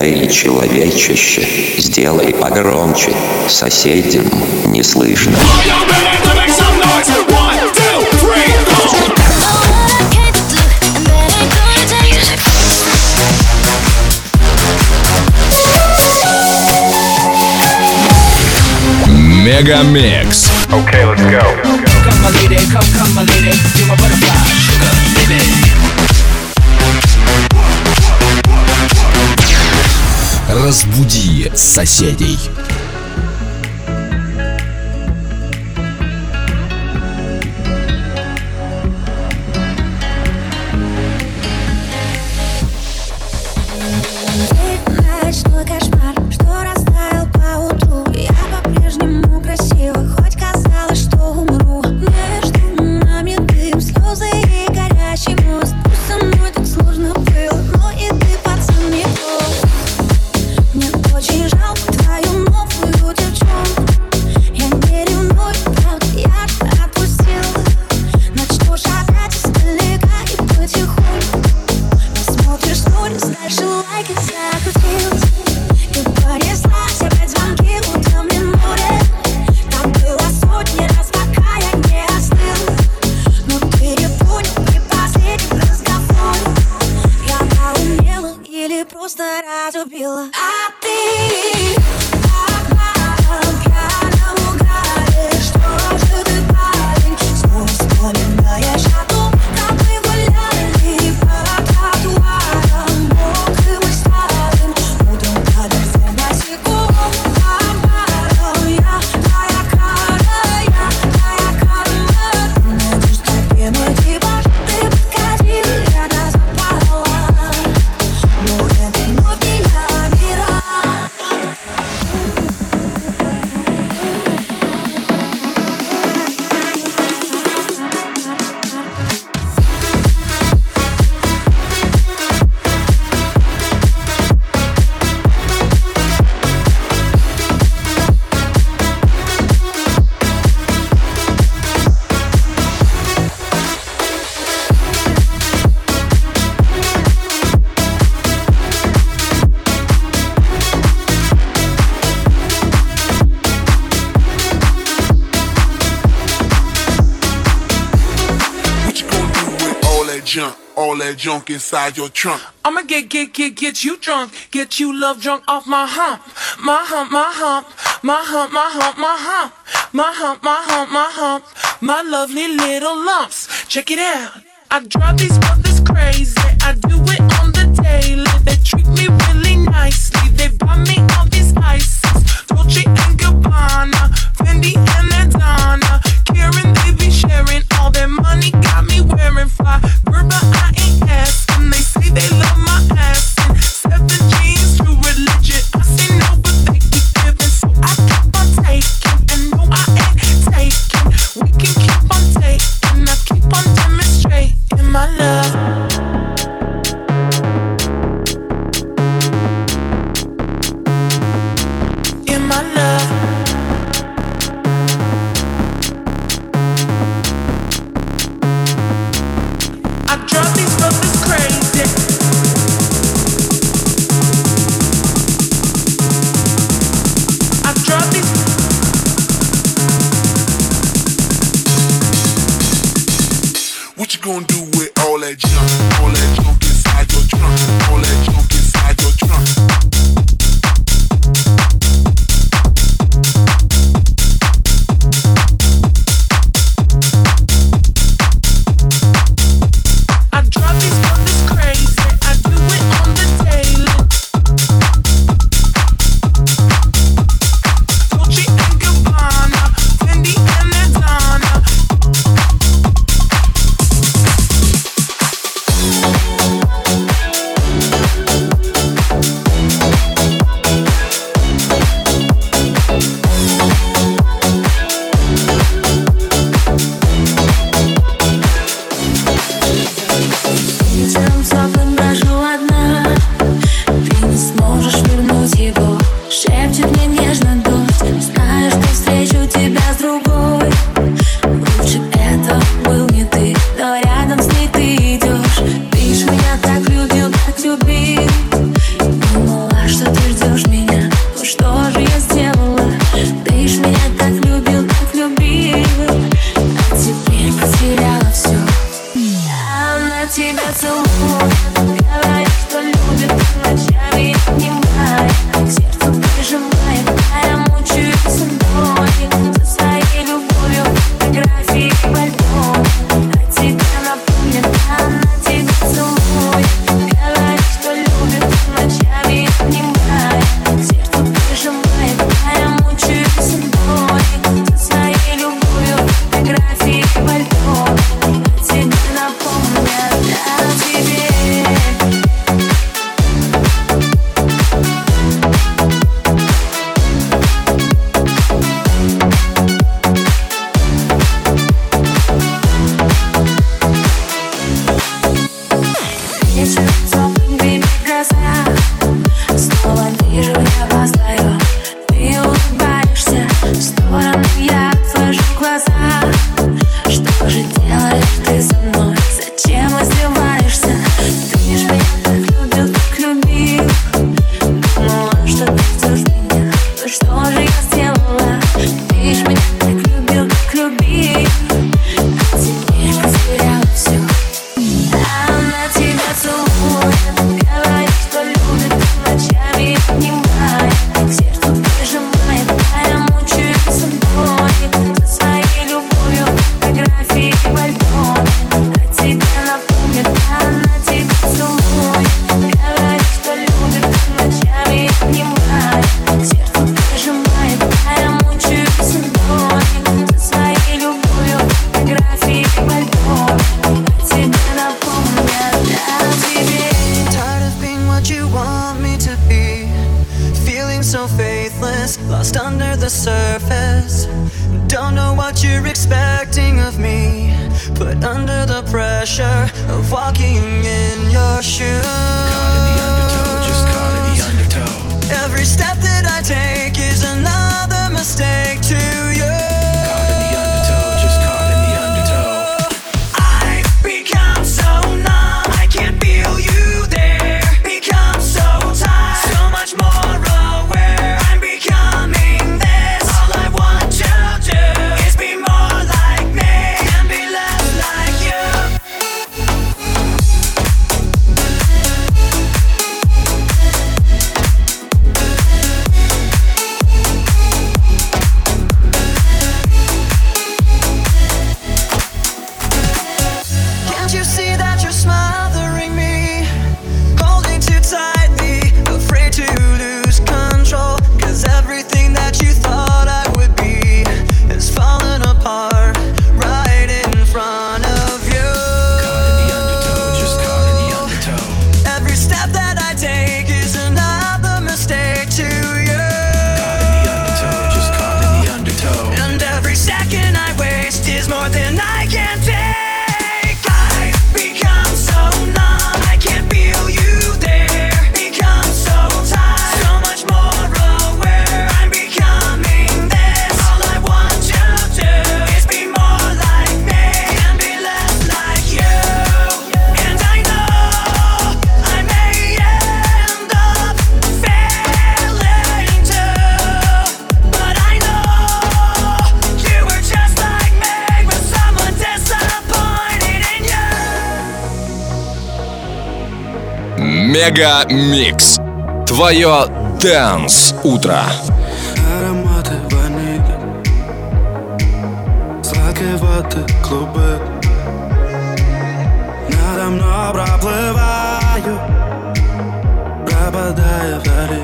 Эй, человечище, сделай погромче, соседям не слышно. Мегамикс. Okay, let's go. Come my lady, come my lady, you're my butterfly, sugar, baby. Разбуди соседей. All that junk inside your trunk. I'ma get you drunk, get you love drunk off my hump, my hump, my hump, my hump, my hump, my hump, my hump, my hump, my hump, my lovely little lumps. Check it out. I drive these brothers crazy. I do it on the daily. They treat me really nicely. They buy me all these ices, Dolce and Gabbana, Fendi and Adana. Karen, they be sharing all their money. Got me wearing fly. Gerber, I ain't asking. They say they love my ass. And 7 jeans, true religion. I say no, but they keep giving. So I keep on taking. And no, I ain't taking. We can keep on taking. I keep on demonstrating my love. In my love. I drive these brothers crazy. I drive these. What you gonna do with all that junk? All that junk inside your trunk. All that junk inside your trunk. so faithless, lost under the surface. Don't know what you're expecting of me, put under the pressure of walking in your shoes. Caught in the undertow, just caught in the undertow. Every step that I take is another mistake to you. Caught in the undertow, just caught in the undertow. I've become so numb, I can't feel you there. Become so tired, so much more aware. I'm becoming this. All I want to do is be more like me and be less like you. Can't you see that you're smothering me, holding too tightly, afraid to lose control? 'Cause everything that you thought I would be is falling apart right in front of you. Caught in the undertow, just caught in the undertow. Every step that I take is another mistake to you. Caught in the undertow, just caught in the undertow. And every second I waste is more than I can take. I've become so numb, I can't feel you there. Become so tired, so much more aware. I'm becoming this. All I want to do is be more like me and be less like you. And I know I may end up failing too, but I know you were just like me with someone disappointed in you. Мега Микс. Твое Dance утро. Ароматы ванили, сладкой воды клубы. Надо мной проплываю, пропадая вдали.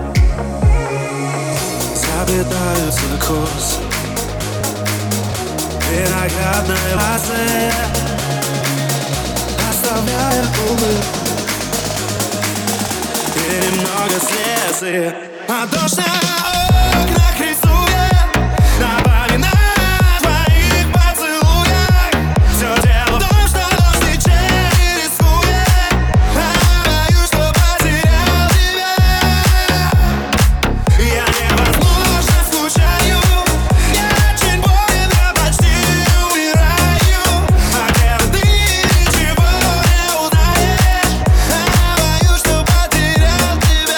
Заплетаются косы виноградной лозы, оставляя улыбку и немного слезы. А дождь на окнах рисует напоминает о твоих поцелуях. Все дело в том, что дождь ничем не рискует. А боюсь, что потерял тебя. Я невозможно скучаю, я очень болен, я почти умираю. А где ты ничего не узнаешь. А боюсь, что потерял тебя.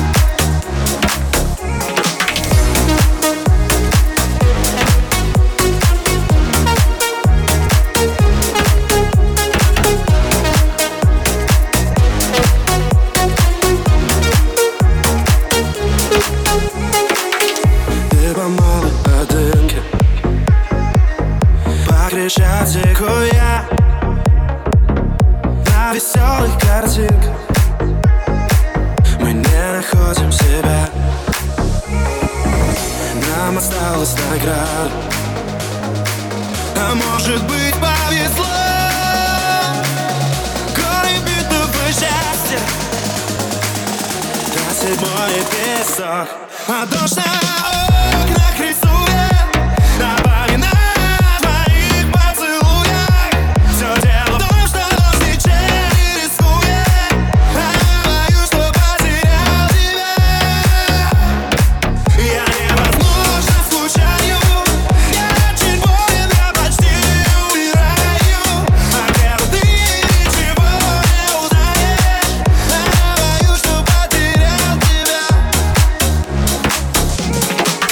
Ты по малой одынке, по Крещатику я на веселых картинках. Мы не находим себя. Нам осталась награда, а может быть повезло. Горы битого счастья, до седьмой песок. А дождь на окнах рисует напоминает о твоих поцелуях. Все дело в том, что дождь ничем не рискует. А боюсь, что потерял тебя. Я невозможно скучаю, я очень болен, я почти умираю. А где ты ничего не узнаешь. А боюсь, что потерял тебя.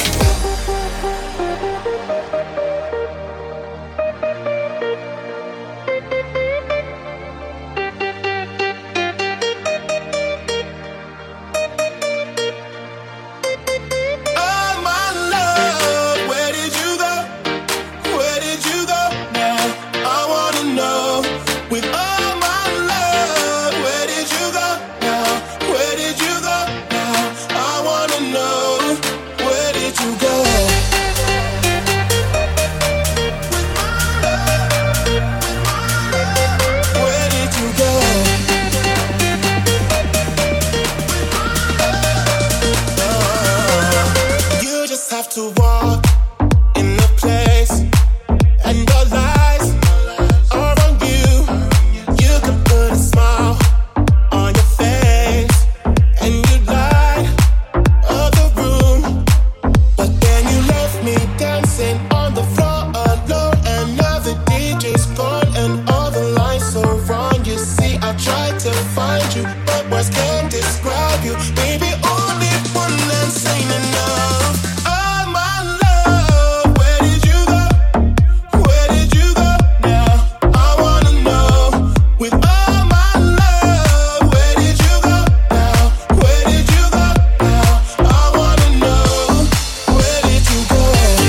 to walk in the place, and your lies are on you. You can put a smile on your face, and you light up the room. But then you left me dancing on the floor alone, and now the DJ's gone, and all the lights are wrong. You see, I tried to find you, but words can't describe you. Baby, only one less ain't enough. Oh my love, where did you go? Where did you go now? I wanna know. With all my love, where did you go now? Where did you go now? I wanna know. Where did you go?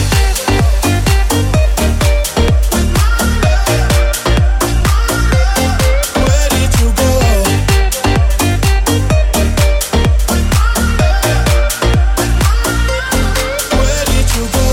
Where did you go? Where did you go?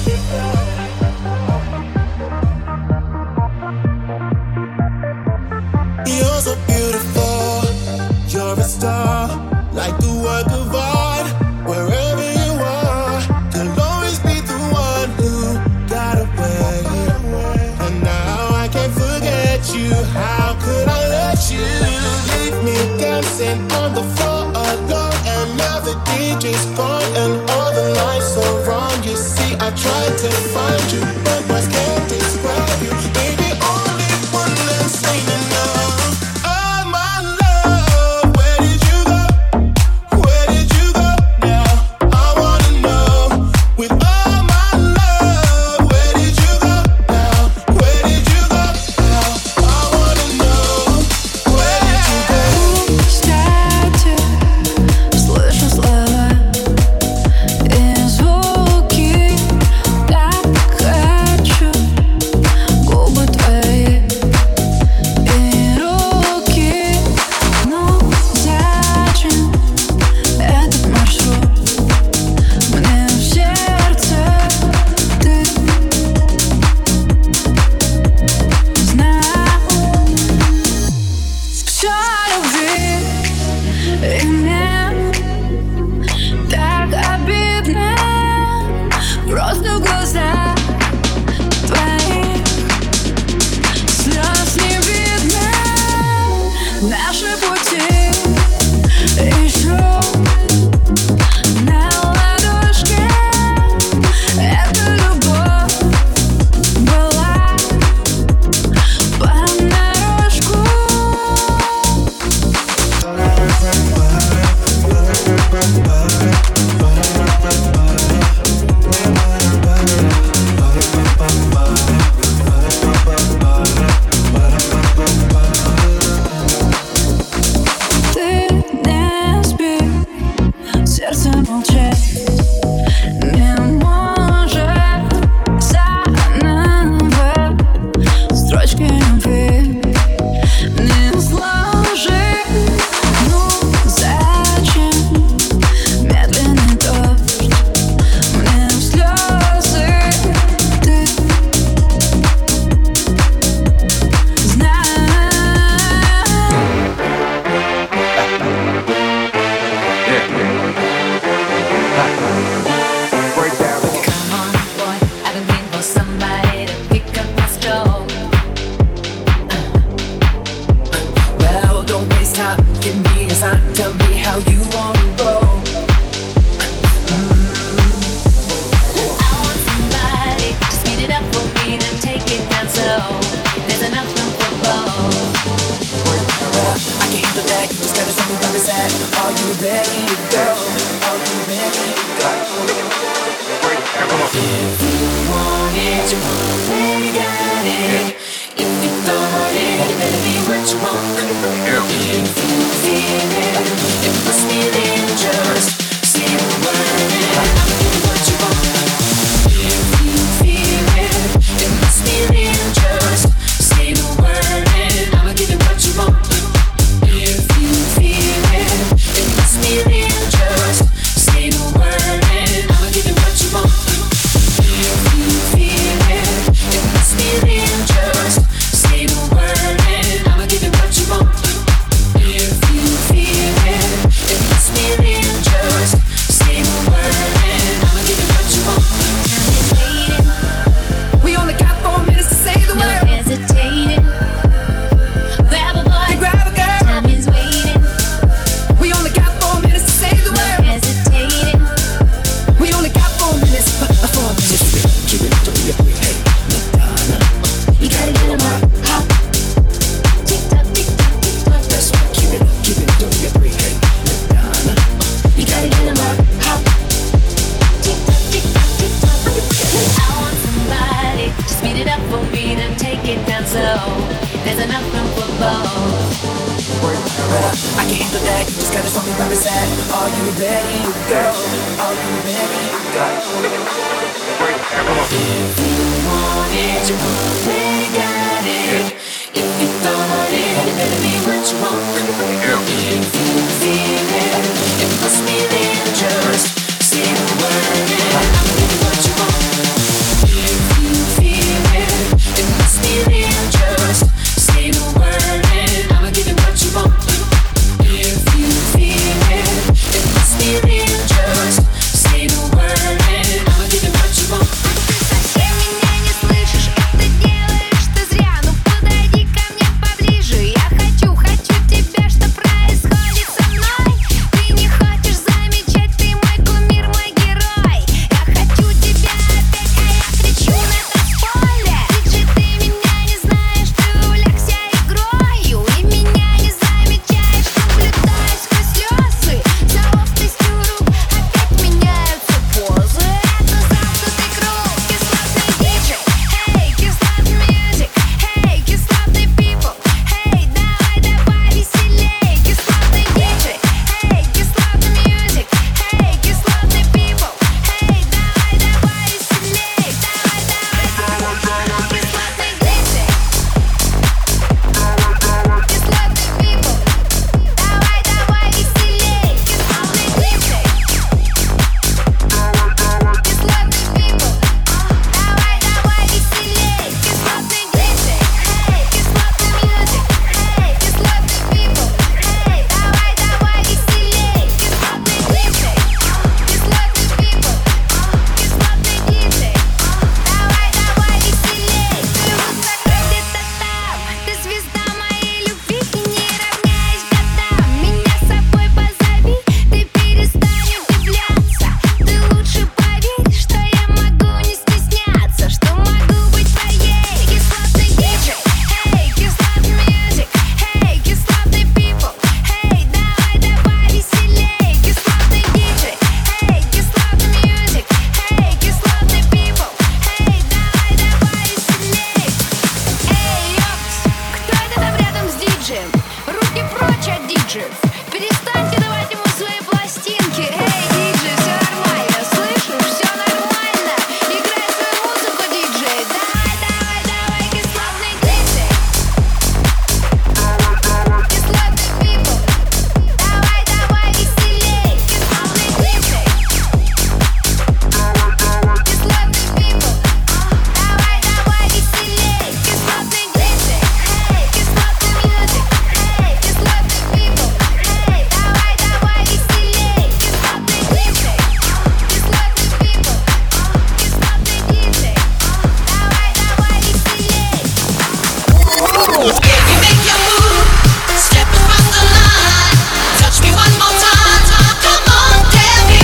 You're so beautiful, you're a star, like a work of art. Wherever you are, you'll always be the one who got away. And now I can't forget you. How could I let you leave me dancing on the floor alone? And now the DJ's gone and all the lights are wrong. You see, I tried to find you, but words can't describe you. Baby, only one less ain't enough. Oh my love, where did you go? Where did you go now? I wanna know. With all my love, where did you go now? Where did you go now? I wanna know. Where did you go? Кстати, слышу слова и звуки, так хочу губы твои и руки. Ну зачем этот маршрут? Мне в сердце ты знал все любви, и мне так обидно. Просто в глазах твоих слез не видно. Наши пути еще на ладошке. Эта любовь была понарошку. Ты не спи, сердце молчит, не может заново строчки любви не сложить. Ну зачем медленный дождь мне в слезы? Ты знаешь. Come on, boy, I've been waiting for somebody to pick up my stroke. Well, don't waste time, give me a sign, tell me how you wanna roll. I want somebody to speed it up for me, then take it down slow. There's enough room for both. I can handle that, you just gotta tell me where it's at. Are you ready to go? Are you ready to go? If you want it, you already got it. If you thought it, it better be what you want. If you feel it, it must be dangerous. Say the word, I'ma give you what you want. If you feel it, it must be dangerous. Say the word, I'ma give you what you want. If you feel it, it must be dangerous. ready to go? Are you ready to go? If you want it, you already got it. If you thought it, it better be what you want. If you feel it, it must be there. Just say the word and I'll give you what you want. If you feel it, it must be there. Just say the word and I'll give you what you want. If you feel it, it must be there. Just say the word and I'll give you what you want. Совсем меня не слышишь, это делаешь ты зря. Ну подойди ко мне поближе. Я хочу тебя, что происходит со мной. Ты не хочешь замечать, ты мой кумир, мой герой. Я хочу тебя опять, а я кричу на танцполе. Диджей, ты меня не знаешь, ты увлекся игрою. И меня не замечаешь, наблюдаю сквозь слезы. За ловкостью рук опять меняются позы. Это замкнутый круг, кислотный диджей. Эй, кислотный мьюзик. Эй, кислотный people. Эй, давай веселей. Кислотный диджей. Эй, кислотный мьюзик. Эй, кислотный people. Эй, давай веселей. Давай. Кислотный диджей. Кислотный people. Давай веселей. Кислотный диджей. Кислотный people. Давай веселей. Кислотный диджей. Эй, кислотный мьюзик. Эй, кислотный people. Эй, давай веселей. Кислотный диджей. Кислотный people. Кислотный диджей. Давай веселей. Ты вот закрой где-то там. Ты звезда моей любви и не равняясь годам. Меня с собой позови, ты перестань удивляться. Ты лучше поверь, что я могу не стесняться, что могу быть твоей. Кислотный диджей. Эй, кислотный мьюзик. Эй, кислотный people. Эй, давай веселей. Кислотный диджей. Эй, кислотный мьюзик. Эй, кислотный people. Эй, давай веселей. Эй, ёпс, кто это там рядом с диджеем? Руки прочь от диджеев. Перестаньте давать ему свои пластинки. Эй, диджей, все нормально, слышишь? Все нормально. Играй свою музыку, диджей. Давай, кислотный диджей. Кислотный people. Давай веселей. Кислотный диджей. Кислотный people. Давай веселей. Кислотный диджей. Эй, кислотный мьюзик. Эй, кислотный people. Эй, давай веселей. Кислотный диджей. Кислотный people. Кислотный диджей. Давай веселей. You make your move, step across the line. Touch me one more time. Come on, tell me.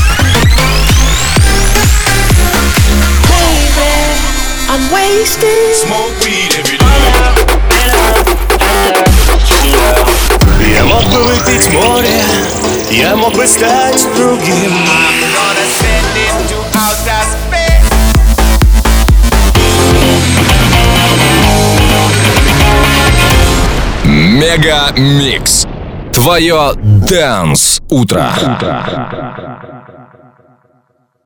Baby, I'm wasted. Smoke weed every day. Я мог бы выпить море, я мог бы стать другим. Мега Микс. Твое Dance утро.